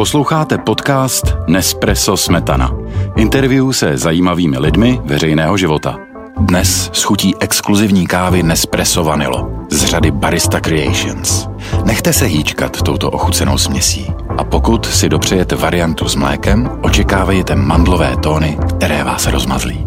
Posloucháte podcast Nespresso Smetana. Interview se zajímavými lidmi veřejného života. Dnes s chutí exkluzivní kávy Nespresso Vanilo z řady Barista Creations. Nechte se hýčkat touto ochucenou směsí. A pokud si dopřejete variantu s mlékem, očekávejte mandlové tóny, které vás rozmazlí.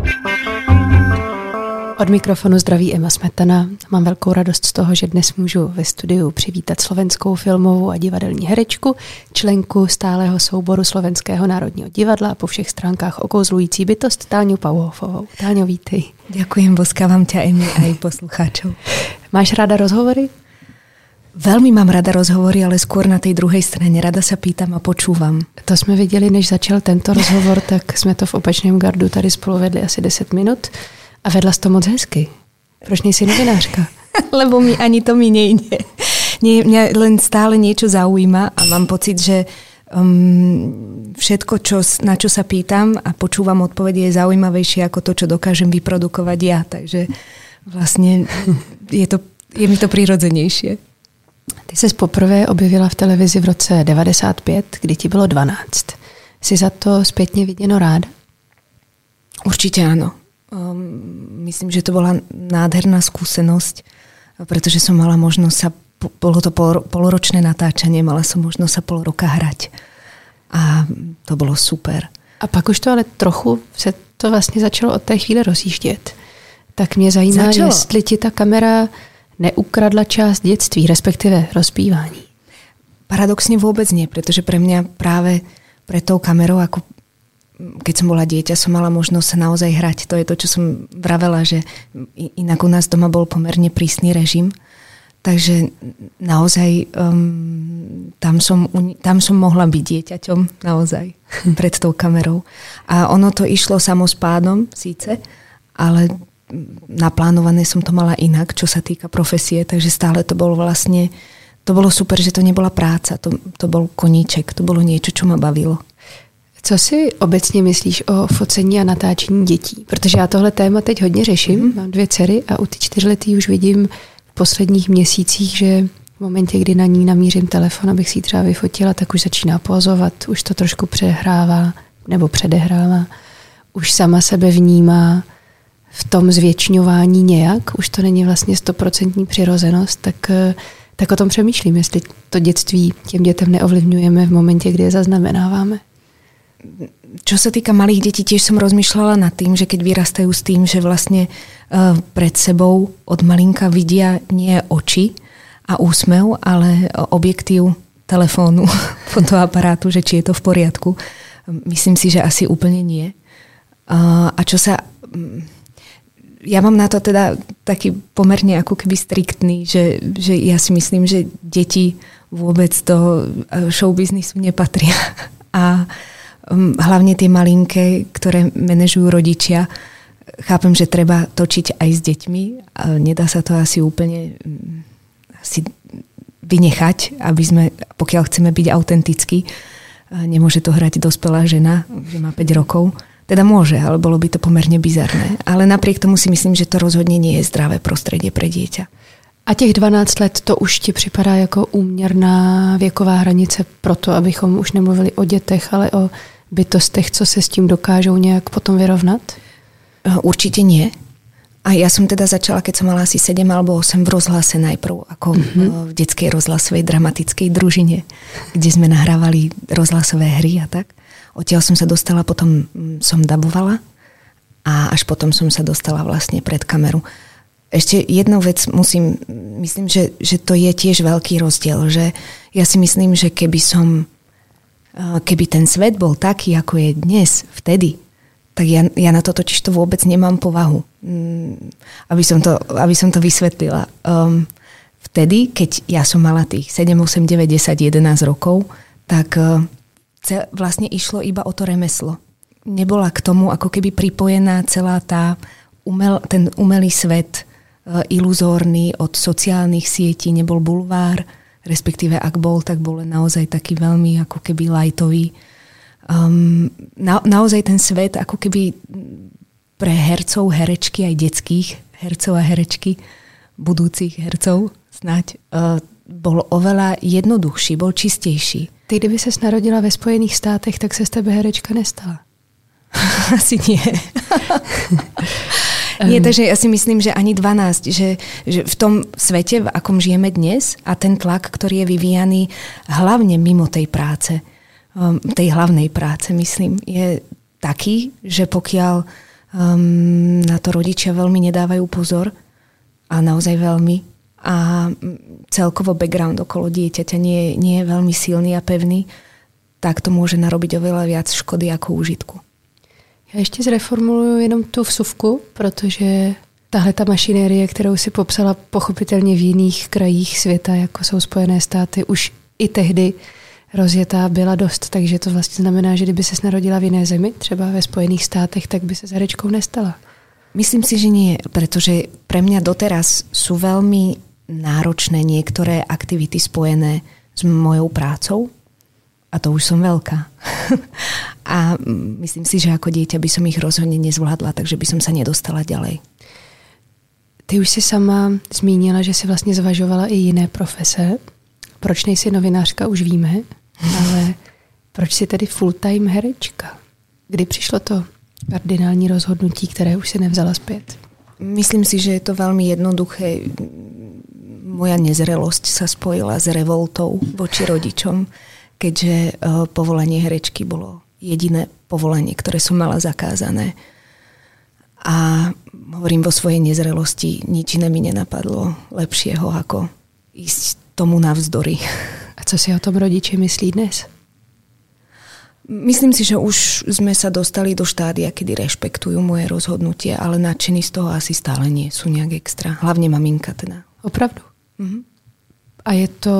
Od mikrofonu zdraví Emma Smetana. Mám velkou radost z toho, že dnes můžu ve studiu přivítat slovenskou filmovou a divadelní herečku, členku stálého souboru Slovenského národního divadla a po všech stránkách okouzlující bytost Táňu Pauhofovou. Táňo, vítej. Ďakujem, boskávam ťa, Emi, aj poslucháčov. Máš ráda rozhovory? Veľmi mám rada rozhovory, ale skôr na tej druhej strane. Rada sa pýtam a počúvam. To jsme viděli, než začal tento rozhovor, tak jsme to v opačném gardu tady spolu vedli asi 10 minut. A vedla jsi to moc hezky. Proč nejsi novinářka? Lebo ani to mi nejde. Mňa len stále niečo zaujíma a mám pocit, že všetko, na čo sa pýtam a počúvam odpovede, je zaujímavejšie ako to, čo dokážem vyprodukovať ja. Takže vlastne je mi to prirodzenejšie. Ty ses poprvé objevila v televizi v roce 95, kdy ti bylo 12. Jsi za to zpětně viděno ráda? Určite áno. Myslím, že to bola nádherná skúsenosť, pretože som mala možnosť bolo to poloročné natáčanie, mala som možnosť sa pol roka hrať. A to bolo super. A pak už to ale trochu se to vlastně začalo od té chvíle rozjíždět. Tak mě zajímá, jestli ti ta kamera neukradla část dětství, respektive rozpívání. Paradoxne vôbec nie, pretože pre mňa práve pre tou kamerou, ako keď som bola dieťa, som mala možnosť sa naozaj hrať. To je to, čo som vravela, že inak u nás doma bol pomerne prísny režim. Takže naozaj tam som mohla byť dieťaťom naozaj pred tou kamerou. A ono to išlo samospádom síce, ale naplánované som to mala inak, čo sa týka profesie, takže stále to bolo vlastne, to bolo super, že to nebola práca, to bol koníček, to bolo niečo, čo ma bavilo. Co si obecně myslíš o focení a natáčení dětí? Protože já tohle téma teď hodně řeším. Mám 2 dcery a u ty 4letý už vidím v posledních měsících, že v momentě, kdy na ní namířím telefon, abych si ji třeba vyfotila, tak už začíná pozovat, už to trošku přehrává nebo předehrává. Už sama sebe vnímá v tom zvětšňování nějak. Už to není vlastně 100% přirozenost, tak o tom přemýšlím, jestli to dětství těm dětem neovlivňujeme v momentě, kdy je zaznamenáváme. Čo sa týka malých detí, tiež som rozmýšľala nad tým, že keď vyrastajú s tým, že vlastne pred sebou od malinka vidia nie oči a úsmev, ale objektív telefónu, fotoaparátu, že či je to v poriadku. Myslím si, že asi úplne nie. A čo sa... Ja mám na to teda taký pomerne ako keby striktný, že ja si myslím, že deti vôbec do showbiznisu nepatria. A hlavne tie malinké, ktoré manažujú rodičia. Chápem, že treba točiť aj s deťmi. Nedá sa to asi úplne vynechať, aby sme, pokiaľ chceme byť autentickí, nemôže to hrať dospelá žena, že má 5 rokov. Teda môže, ale bolo by to pomerne bizarné. Ale napriek tomu si myslím, že to rozhodne nie je zdravé prostredie pre dieťa. A těch 12 let to už ti připadá jako úměrná věková hranice pro to, abychom už nemluvili o dětech, ale o bytostech, co se s tím dokážou nějak potom vyrovnat? Určite nie. A ja som teda začala, keď som mala asi 7 alebo 8 v rozhlase najprv, ako v detskej rozhlasovej dramatickej družine, kde sme nahrávali rozhlasové hry a tak. Odtiaľ som sa dostala, potom som dabovala a až potom som sa dostala vlastne pred kameru. Ešte jednu vec myslím, že to je tiež veľký rozdiel, že ja si myslím, že keby ten svet bol taký, ako je dnes, vtedy, tak ja na to totiž to vôbec nemám povahu. Aby som to vysvetlila. Vtedy, keď ja som mala tých 7, 8, 9, 10, 11 rokov, tak vlastne išlo iba o to remeslo. Nebola k tomu ako keby pripojená celá ten umelý svet, iluzórny od sociálnych sietí, nebol bulvár, respektíve ak bol, tak bol naozaj taký veľmi ako keby lightový. Naozaj ten svet ako keby pre hercov, herečky, aj detských hercov a herečky, budúcich hercov snáď, bol oveľa jednoduchší, bol čistejší. Ty, kdyby ses narodila ve Spojených státech, tak se z tebe herečka nestala. Asi nie. Nie, takže ja si myslím, že ani 12, že v tom svete, v akom žijeme dnes a ten tlak, ktorý je vyvíjaný hlavne mimo tej práce, tej hlavnej práce, myslím, je taký, že pokiaľ na to rodičia veľmi nedávajú pozor a naozaj veľmi a celkovo background okolo dieťaťa nie je veľmi silný a pevný, tak to môže narobiť oveľa viac škody ako užitku. Já ještě zreformuluju jenom tu vsuvku, protože tahle ta mašinérie, kterou si popsala pochopitelně v jiných krajích světa, jako jsou Spojené státy, už i tehdy rozjetá byla dost, takže to vlastně znamená, že kdyby ses narodila v jiné zemi, třeba ve Spojených státech, tak by se s herečkou nestala. Myslím si, že nie, pretože pre mňa doteraz sú veľmi náročné niektoré aktivity spojené s mojou prácou. A to už som veľká. A myslím si, že ako dieťa by som ich rozhodne nezvládla, takže by som sa nedostala ďalej. Ty už si sama zmínila, že si vlastně zvažovala i jiné profese. Proč nejsi novinářka, už víme, ale proč si tedy full-time herečka? Kdy přišlo to kardinální rozhodnutí, které už si nevzala zpět? Myslím si, že je to veľmi jednoduché. Moja nezrelosť sa spojila s revoltou voči rodičom, keďže povolanie herečky bolo jediné povolanie, ktoré som mala zakázané. A hovorím, vo svojej nezrelosti nič iné mi nenapadlo lepšieho, ako ísť tomu navzdory. A co si o tom rodiči myslí dnes? Myslím si, že už sme sa dostali do štádia, kedy rešpektujú moje rozhodnutie, ale nadšení z toho asi stále nie sú nejak extra. Hlavne maminka teda. Opravdu? A je to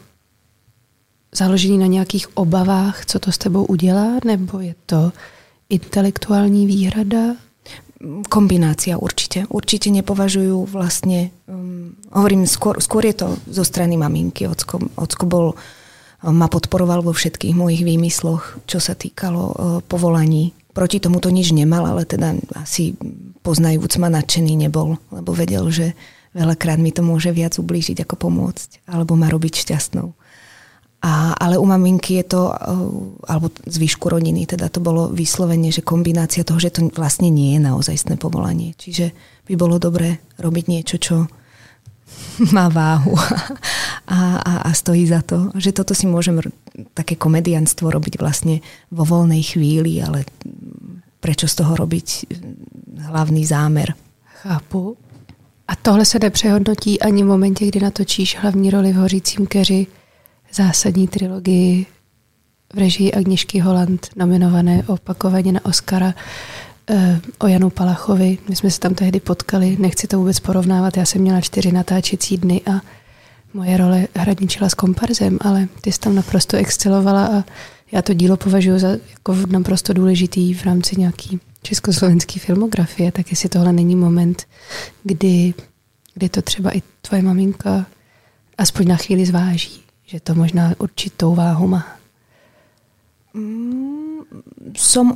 založený na nějakých obavách, co to s tebou udělá, nebo je to intelektuální výhrada? Kombinácia určite. Určite nepovažujú vlastne, hovorím, skôr je to zo strany maminky. Ocko ma podporoval vo všetkých mojich výmysloch, čo sa týkalo povolaní. Proti tomu to nič nemal, ale teda asi poznajúc ma nadšený nebol, lebo vedel, že veľakrát mi to môže viac ublížiť ako pomôcť, alebo ma robiť šťastnou. Ale u maminky je to, alebo zvyšku rodiny, teda to bolo vyslovene, že kombinácia toho, že to vlastne nie je naozajstné povolanie. Čiže by bolo dobré robiť niečo, čo má váhu a stojí za to. Že toto si môžem také komedianstvo robiť vlastne vo voľnej chvíli, ale prečo z toho robiť hlavný zámer? Chápu. A tohle se nepřehodnotí ani v momentě, kdy natočíš hlavní roli v Hořícím keři, zásadní trilogii v režii Agněšky Holland, nominované opakovaně na Oscara, o Janu Palachovi. My jsme se tam tehdy potkali, nechci to vůbec porovnávat, já jsem měla 4 natáčecí dny a moje role hraničila s komparzem, ale ty jsi tam naprosto excelovala a já to dílo považuji za jako naprosto důležitý v rámci nějaký československé filmografie, tak jestli tohle není moment, kdy to třeba i tvoje maminka aspoň na chvíli zváží, že to možná určitou váhu má. Som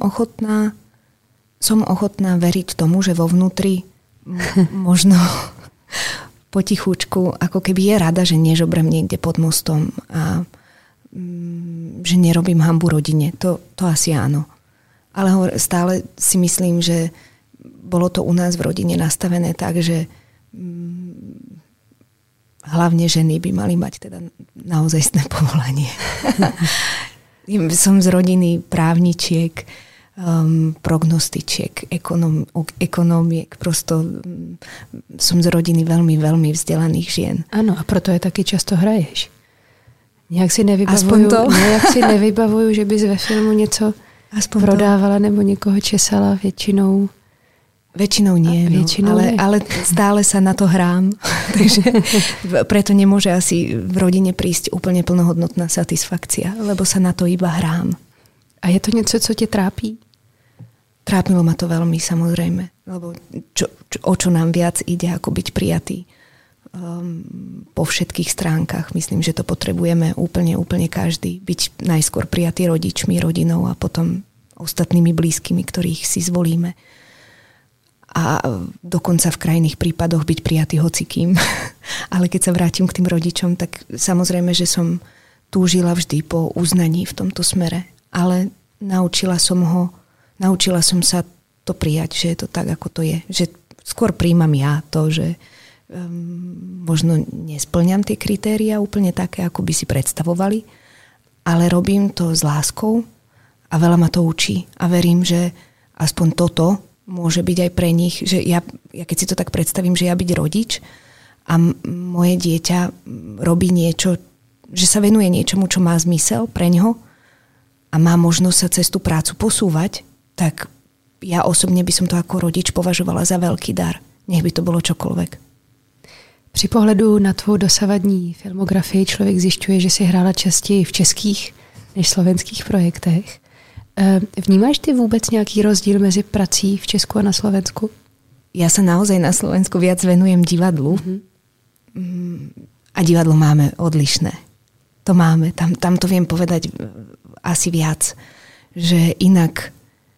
ochotná veriť tomu, že vo vnútri možno potichučku, ako keby je rada, že nežobrem niekde pod mostom a že nerobím hanbu rodine. To asi áno. Ale stále si myslím, že bolo to u nás v rodine nastavené tak, že hlavne ženy by mali mať teda naozajstné povolanie. Som z rodiny právničiek, prognostičiek, ekonómiek. Prosto som z rodiny veľmi, veľmi vzdelaných žien. Ano, a proto je taky často hraješ. Nějak si nevybavuju, že bys ve filmu něco prodávala nebo někoho česala většinou. Väčšinou nie, ale stále sa na to hrám. Takže preto nemôže asi v rodine prísť úplne plnohodnotná satisfakcia, lebo sa na to iba hrám. A je to něco, co tě trápí? Trápilo ma to veľmi, samozrejme. Lebo o čo nám viac ide, ako byť prijatý po všetkých stránkach. Myslím, že to potrebujeme úplne každý. Byť najskôr prijatý rodičmi, rodinou a potom ostatnými blízkymi, ktorých si zvolíme. A dokonca v krajných prípadoch byť prijatý hocikým. Ale keď sa vrátim k tým rodičom, tak samozrejme, že som túžila vždy po uznaní v tomto smere, ale naučila som sa to prijať, že je to tak, ako to je. Že skôr príjmam ja to, že možno nesplňam tie kritéria úplne také, ako by si predstavovali, ale robím to s láskou a veľa ma to učí. A verím, že aspoň toto môže byť aj pre nich, že ja keď si to tak predstavím, že ja byť rodič a moje dieťa robí niečo, že sa venuje niečomu, čo má zmysel pre ňoho a má možnosť sa cez tú prácu posúvať, tak ja osobne by som to ako rodič považovala za veľký dar. Nech by to bolo čokoľvek. Při pohledu na tvou dosavadní filmografii člověk zjišťuje, že si hrála častěji v českých než slovenských projektech. Vnímáš ty vůbec nějaký rozdíl mezi prací v Česku a na Slovensku? Ja sa naozaj na Slovensku viac venujem divadlu. A divadlo máme odlišné. To máme. Tam to viem povedať asi viac. Že inak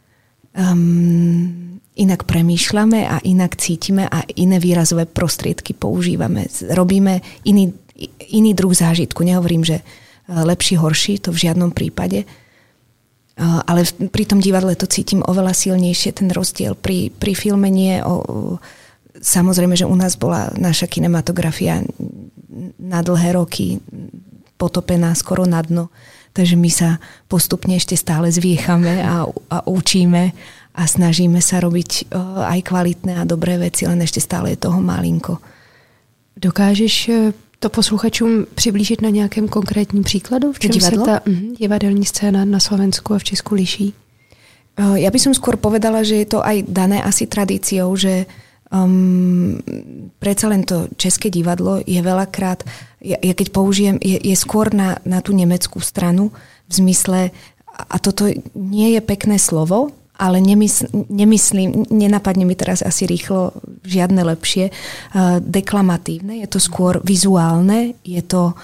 premýšľame a inak cítime a iné výrazové prostriedky používame. Robíme iný druh zážitku. Nehovorím, že lepší, horší, to v žiadnom prípade. Ale pri tom divadle to cítim oveľa silnejšie, ten rozdiel. Pri filme nie. Samozrejme, že u nás bola naša kinematografia na dlhé roky potopená skoro na dno. Takže my sa postupne ešte stále zviechame a učíme a snažíme sa robiť aj kvalitné a dobré veci, len ešte stále je toho malinko. Dokážeš to posluchačům přiblížit na nějakém konkrétním příkladu? V čem se ta divadelní scéna na Slovensku a v Česku liší? Ja by som skôr povedala, že je to aj dané asi tradíciou, že predsa len to české divadlo je veľakrát, ja keď použijem, je skôr na tú nemeckú stranu v zmysle, a toto nie je pekné slovo, ale nemyslím, nenapadne mi teraz asi rýchlo žiadne lepšie, deklamatívne, je to skôr vizuálne, je to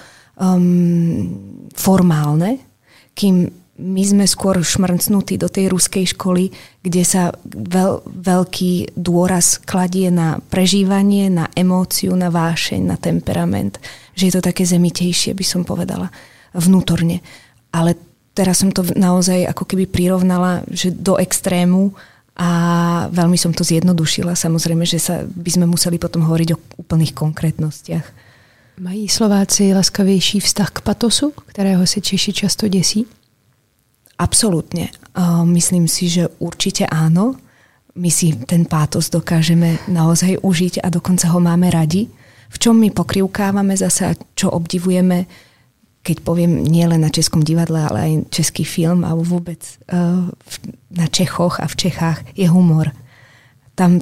formálne, kým my sme skôr šmrcnutí do tej ruskej školy, kde sa veľký dôraz kladie na prežívanie, na emóciu, na vášeň, na temperament. Že je to také zemitejšie, by som povedala, vnútorne. Ale teraz som to naozaj ako keby prirovnala, že do extrému a veľmi som to zjednodušila. Samozrejme, že by sme museli potom hovoriť o úplných konkrétnostiach. Mají Slováci laskavější vztah k patosu, kterého se Češi často děsí? Absolútne. Myslím si, že určite áno. My si ten pátos dokážeme naozaj užiť a dokonca ho máme radi. V čom my pokrivkávame zase a čo obdivujeme, keď poviem nielen na českom divadle, ale aj český film alebo vôbec na Čechoch a v Čechách je humor. Tam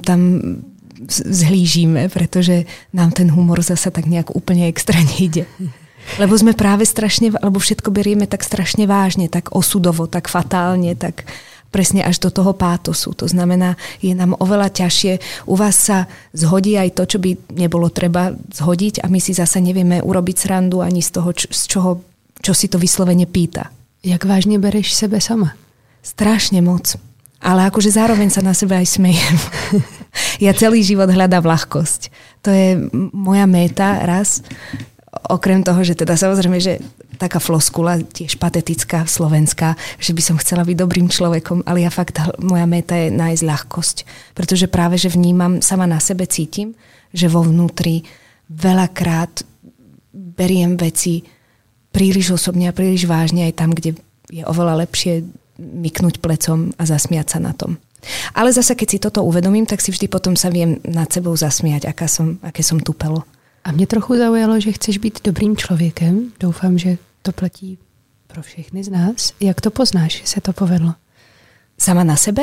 zhlížime, pretože nám ten humor zase tak nejak úplne extra nejde. Lebo sme práve strašne, alebo všetko berieme tak strašne vážne, tak osudovo, tak fatálne, tak presne až do toho pátosu. To znamená, je nám oveľa ťažšie. U vás sa zhodí aj to, čo by nebolo treba zhodiť a my si zasa nevieme urobiť srandu ani z toho, čo si to vyslovene pýta. Jak vážne bereš sebe sama? Strašne moc. Ale akože zároveň sa na sebe aj smejem. Ja celý život hľadám ľahkosť. To je moja méta raz. Okrem toho, že teda samozrejme, že taká floskula, tiež patetická, slovenská, že by som chcela byť dobrým človekom, ale ja fakt, moja méta je nájsť ľahkosť. Pretože práve, že vnímam, sama na sebe cítim, že vo vnútri veľakrát beriem veci príliš osobne a príliš vážne aj tam, kde je oveľa lepšie myknúť plecom a zasmiať sa na tom. Ale zase, keď si toto uvedomím, tak si vždy potom sa viem nad sebou zasmiať, aké som tupelo. A mě trochu zaujalo, že chceš být dobrým člověkem. Doufám, že to platí pro všechny z nás. Jak to poznáš, že se to povedlo? Sama na sebe?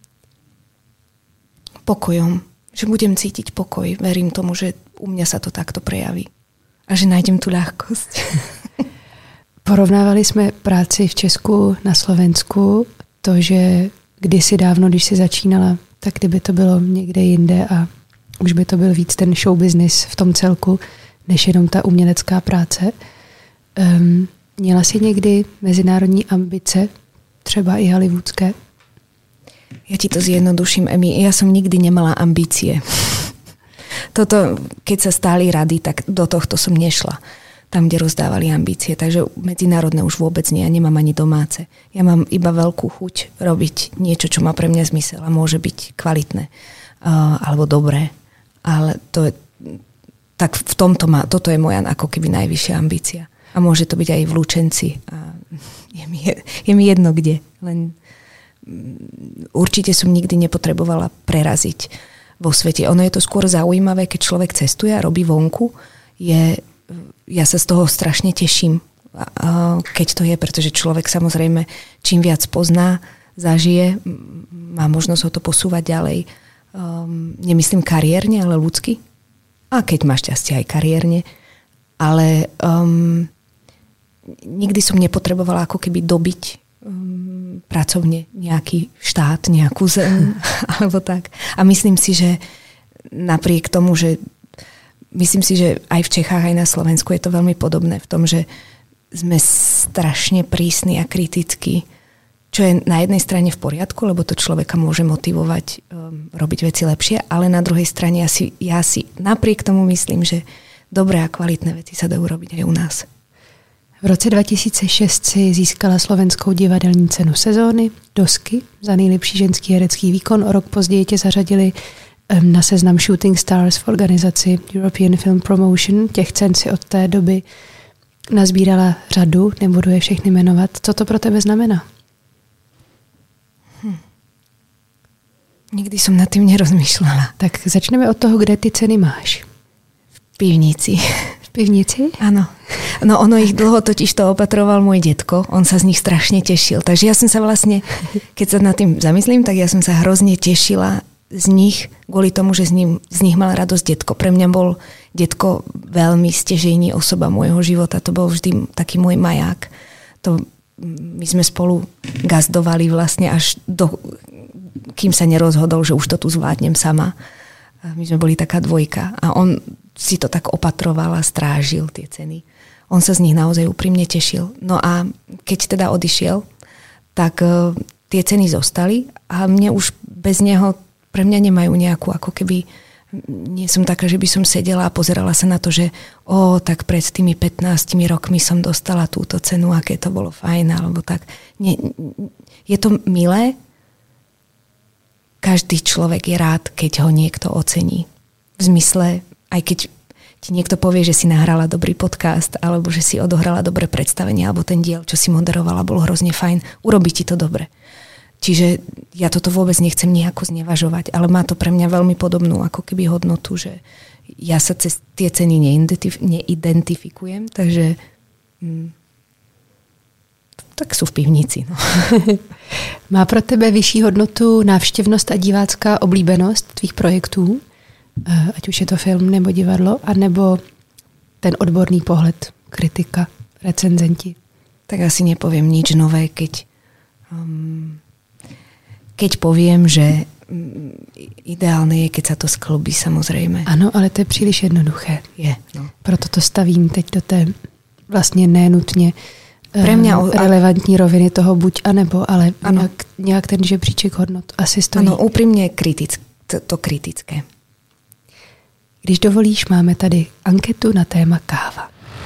Pokojom. Že budem cítiť pokoj. Verím tomu, že u mňa sa to takto prejaví. A že nájdem tu ľahkosť. Porovnávali jsme práci v Česku na Slovensku. To, že kdysi dávno, když si začínala, tak kdyby to bylo někde jinde a už by to byl víc ten show business v tom celku, než jenom ta umělecká práce. Měla jsi někdy mezinárodní ambice, třeba i hollywoodské? Ja ti to zjednoduším, Emi. Ja som nikdy nemala ambície. Toto, keď sa stáli rady, tak do tohto som nešla. tam, kde rozdávali ambície. Takže medzinárodné už vôbec nie, ja nemám ani domáce. Ja mám iba veľkú chuť robiť niečo, čo má pre mňa zmysel a môže byť kvalitné alebo dobré. Ale to je, tak v tomto toto je moja ako keby najvyššia ambícia. A môže to byť aj v Lučenci. A je mi jedno kde. Len určite som nikdy nepotrebovala preraziť vo svete. Ono je to skôr zaujímavé, keď človek cestuje a robí vonku. Ja sa z toho strašne teším, keď to je, pretože človek samozrejme čím viac pozná, zažije, má možnosť ho to posúvať ďalej. Nemyslím kariérne, ale ľudsky. A keď má šťastie aj kariérne. Ale nikdy som nepotrebovala ako keby dobiť pracovne nejaký štát, nejakú zem, alebo tak. A myslím si, že napriek tomu, že myslím si, že aj v Čechách, aj na Slovensku je to veľmi podobné v tom, že sme strašne prísni a kritickí, čo je na jednej strane v poriadku, lebo to človeka môže motivovať robiť veci lepšie, ale na druhej strane ja si napriek tomu myslím, že dobré a kvalitné veci sa dajú robiť aj u nás. V roce 2006 si získala slovenskou divadelní cenu sezóny, Dosky, za nejlepší ženský herecký výkon. O rok později tě zařadili na seznam Shooting Stars v organizaci European Film Promotion. Těch cen si od té doby nazbírala řadu, nebudu je všechny jmenovat. Co to pro tebe znamená? Nikdy som nad tým nerozmýšľala. Tak začneme od toho, kde ty ceny máš. V pivnici. V pivnici? Áno. No ono ich dlho totiž to opatroval môj detko. On sa z nich strašne tešil. Takže ja som sa vlastne, keď sa nad tým zamyslím, tak ja som sa hrozne tešila z nich, kvôli tomu, že z nich mal radosť detko. Pre mňa bol detko veľmi stěžejní osoba môjho života. To bol vždy taký môj maják. My sme spolu gazdovali vlastne až kým sa nerozhodol, že už to tu zvládnem sama. My sme boli taká dvojka a on si to tak opatroval a strážil tie ceny. On sa z nich naozaj úprimne tešil. No a keď teda odišiel, tak tie ceny zostali a mne už bez neho, pre mňa nemajú nejakú, ako keby, nie som taká, že by som sedela a pozerala sa na to, že tak pred tými 15 rokmi som dostala túto cenu, aké to bolo fajn, alebo tak. Nie, je to milé. Každý človek je rád, keď ho niekto ocení. V zmysle, aj keď ti niekto povie, že si nahrala dobrý podcast, alebo že si odohrala dobré predstavenie, alebo ten diel, čo si moderovala, bol hrozne fajn, urobí ti to dobre. Čiže ja toto vôbec nechcem nejako znevažovať, ale má to pre mňa veľmi podobnú ako keby hodnotu, že ja sa cez tie ceny neidentifikujem, takže tak sú v pivnici. No. Má pro tebe vyšší hodnotu návštěvnost a divácká oblíbenost tvých projektů, ať už je to film nebo divadlo, anebo ten odborný pohled, kritika, recenzenti? Tak asi nepoviem nič nové, keď poviem, že ideálne je, keď sa to skloubí, samozrejme. Ano, ale to je příliš jednoduché. Je, no. Proto to stavím teď do té vlastně nenutně pre mňa relevantní roviny toho buď a nebo, ale nějak ten žebříček hodnot asi stojí. Ano, úprimne to kritické. Když dovolíš, máme tady anketu na téma káva.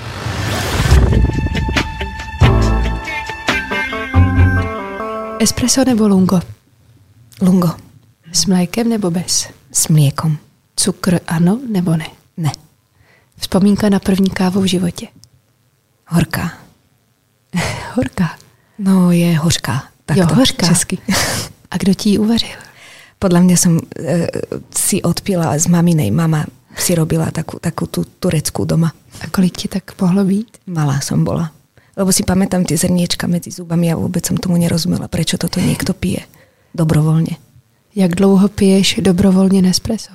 Espresso nebo lungo? Lungo. S mlékem nebo bez? S mliekom. Cukr ano nebo ne? Ne. Vzpomínka na první kávu v životě? Horká. Horká? No, je hořká. Jo, hořká. Česky. A kdo ti ji uvařil? Podľa mňa som si odpila z maminej. Mama si robila takú tú tureckú doma. A kolik ti tak mohlo být? Malá som bola. Lebo si pamätám tie zrniečka medzi zubami a vôbec som tomu nerozumela, prečo toto niekto pije dobrovoľne. Jak dlouho piješ dobrovoľne Nespresso?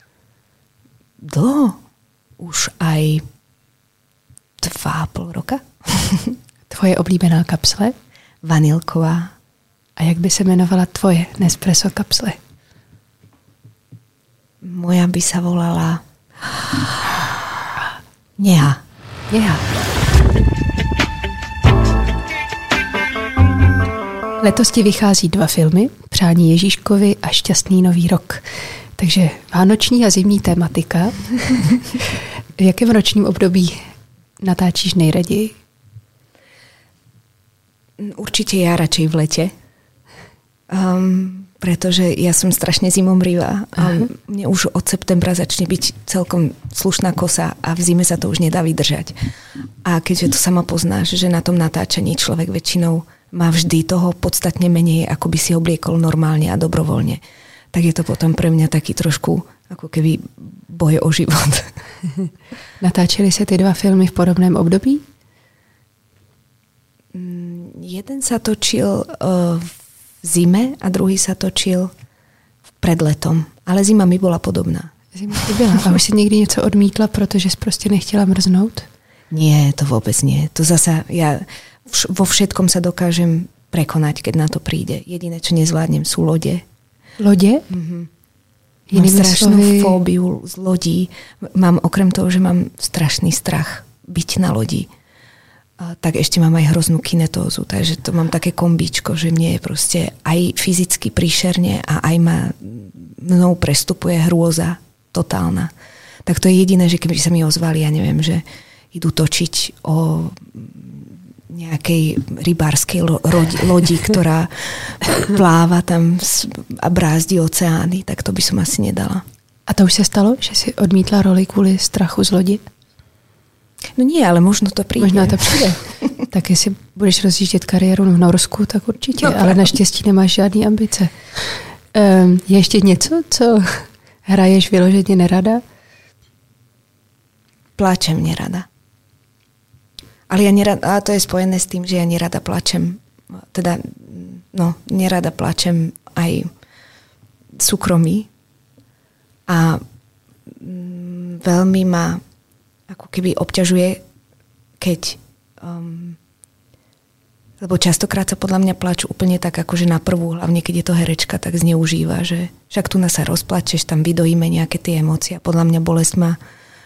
Dlho. Už aj 2,5 roka. Tvoje oblíbená kapsle? Vanilková. A jak by se jmenovala tvoje Nespresso kapsle? Moja by sa volala Neha. Neha. Letos ti vychází 2 filmy, Přání Ježíškovi a Šťastný nový rok. Takže vánoční a zimní tematika. V jakém ročním období natáčíš nejraději? Určite ja radšej v lete. Pretože ja som strašne zimomrivá a mne už od septembra začne byť celkom slušná kosa a v zime sa to už nedá vydržať. A keďže to sama poznáš, že na tom natáčaní človek väčšinou má vždy toho podstatne menej, ako by si obliekol normálne a dobrovoľne, tak je to potom pre mňa taký trošku ako keby boj o život. Natáčeli sa ty 2 filmy v podobném období? Jeden sa točil v zime a druhý sa točil pred letom. Ale zima mi bola podobná. Zima ti byla. A už si někdy něco odmítla, protože jsi prostě nechtěla mrznout? Nie, to vôbec nie. To zasa, ja vo všetkom sa dokážem prekonať, keď na to príde. Jediné, čo nezvládnem, sú lode. Lode? Mám strašnú fóbiu z lodí. Mám, okrem toho, že mám strašný strach byť na lodi, tak ešte mám aj hroznú kinetózu, takže to mám také kombíčko, že mne je proste aj fyzicky príšerne a aj mnou prestupuje hrôza totálna. Tak to je jediné, že keby sa mi ozvali, ja neviem, že idú točiť o nejakej rybárskej lodi, ktorá pláva tam a brázdi oceány, tak to by som asi nedala. A to už sa stalo, že si odmítla roli kvôli strachu z lodi? No nie, ale možno to přijde. Možná to přijde. Tak jestli budeš rozjíždět kariéru v Norsku, tak určitě. No, ale naštěstí nemáš žádný ambice. Je ještě něco, co hraješ vyloženě nerada? Pláčem nerada. Ale ja nerada, a to je spojené s tým, že ja nerada plačem. Teda, no, nerada plačem aj súkromí. A veľmi ma ako keby obťažuje, keď lebo častokrát sa podľa mňa plač úplne tak, akože na prvú, hlavne keď je to herečka, tak zneužíva, že však tu nás sa rozplačeš, tam vydojíme nejaké tie emócie. Podľa mňa bolesť má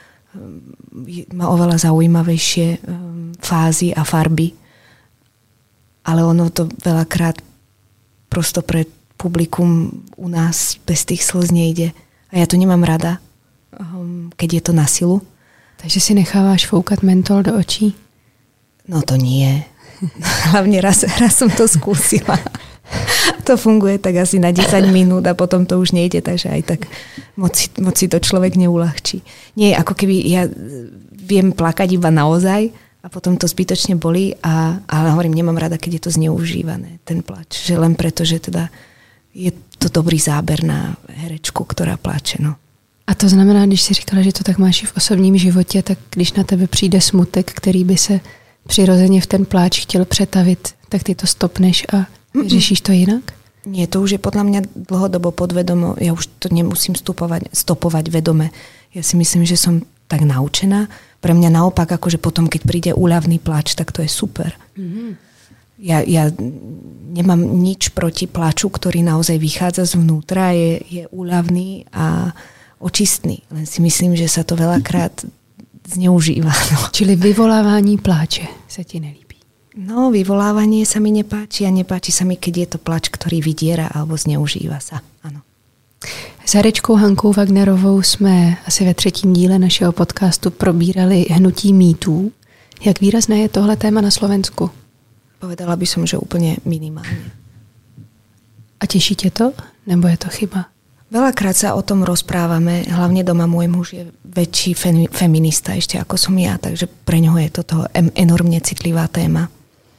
oveľa zaujímavejšie fázy a farby. Ale ono to veľakrát prosto pre publikum u nás bez tých slz nejde. A ja to nemám rada, keď je to na silu. Takže si necháváš foukat mentol do očí? No to nie. Hlavne raz som to skúsila. To funguje tak asi na 10 minút a potom to už nejde, takže aj tak moc si to človek neulahčí. Nie, ako keby ja viem plakať iba naozaj a potom to zbytočne bolí, ale hovorím, nemám rada, keď je to zneužívané, ten plač. Že len preto, že teda je to dobrý záber na herečku, ktorá plače, no. A to znamená, když si říkala, že to tak máš i v osobním životě, tak když na tebe přijde smutek, který by se přirozeně v ten pláč chtěl přetavit, tak ty to stopneš a řešíš to jinak? Nie, to už je podľa mňa dlhodobo podvedomo. Ja už to nemusím stopovať vedome. Ja si myslím, že som tak naučená. Pre mňa naopak, akože potom, keď príde úľavný pláč, tak to je super. Mm-hmm. Ja nemám nič proti pláču, ktorý naozaj vychádza zvnútra, je úľavný a očistný. Len si myslím, že sa to veľakrát zneužíva. No. Čili vyvolávání pláče sa ti nelíbí? No, vyvolávanie sa mi nepáči a nepáči sa mi, keď je to plač, ktorý vydiera alebo zneužíva sa. Áno. S herečkou Hankou Wagnerovou jsme asi ve 3. díle našeho podcastu probírali hnutí mýtů. Jak výrazné je tohle téma na Slovensku? Povedala by som, že úplne minimálne. A teší tě to? Nebo je to chyba? Veľakrát sa o tom rozprávame, hlavne doma môj muž je väčší feminista ešte ako som ja, takže pre ňoho je toto enormne citlivá téma.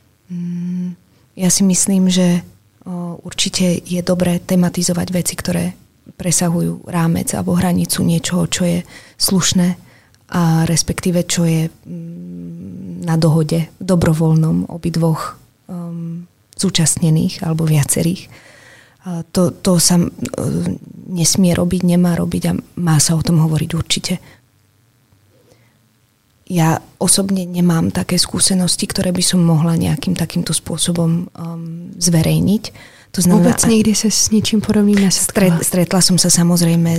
Ja si myslím, že určite je dobré tematizovať veci, ktoré presahujú rámec alebo hranicu niečoho, čo je slušné a respektíve čo je na dohode dobrovoľnom obidvoch zúčastnených alebo viacerých. To sa nesmie robiť, nemá robiť a má sa o tom hovoriť určite. Ja osobne nemám také skúsenosti, ktoré by som mohla nejakým takýmto spôsobom zverejniť. To znamená, vôbec nikdy sa s ničím podobným nesetkala? Stretla som sa samozrejme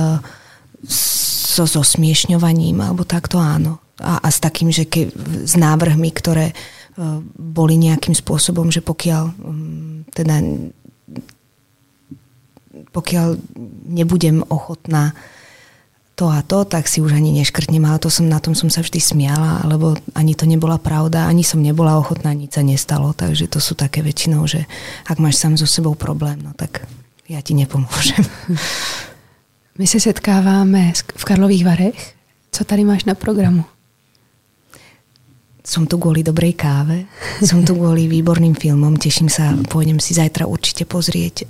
so zosmiešňovaním, alebo takto áno. A s takým, že s návrhmi, ktoré boli nejakým spôsobom, že pokiaľ nebudem ochotná to to a to, tak si už ani neškrtnem, ale na tom som sa vždy smiala, alebo ani to nebola pravda, ani som nebola ochotná, nič sa nestalo, takže to sú také väčšinou, že ak máš sám so sebou problém, no tak ja ti nepomôžem. My se setkáváme v Karlových Varech. Co tady máš na programu? Som tu kvôli dobrej káve, som tu kvôli výborným filmom, teším sa, pôjdem si zajtra určite pozrieť.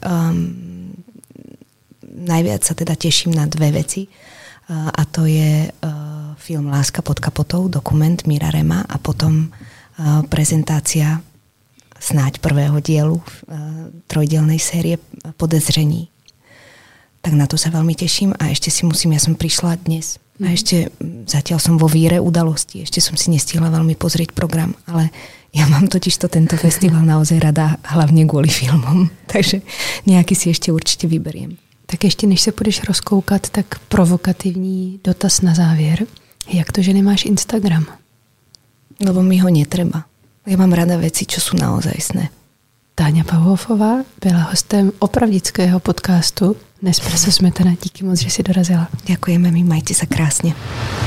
Najviac sa teda teším na dve veci a to je film Láska pod kapotou, dokument Mira Rema a potom prezentácia snáď prvého dielu trojdielnej série Podezření. Tak na to sa veľmi teším a ešte si musím, ja som prišla dnes a ešte zatiaľ som vo víre udalosti, ešte som si nestihla veľmi pozrieť program, ale ja mám totižto tento festival naozaj rada hlavne kvôli filmom, takže nejaký si ešte určite vyberiem. Tak ještě než se půjdeš rozkoukat, tak provokativní dotaz na závěr. Jak to, že nemáš Instagram? Lebo mi ho netreba. Ja mám rada veci, čo sú naozajstné. Táňa Pauhofová byla hostem opravdického podcastu Nespresso Smetana. Díky moc, že si dorazila. Ďakujeme mi, majte sa krásne.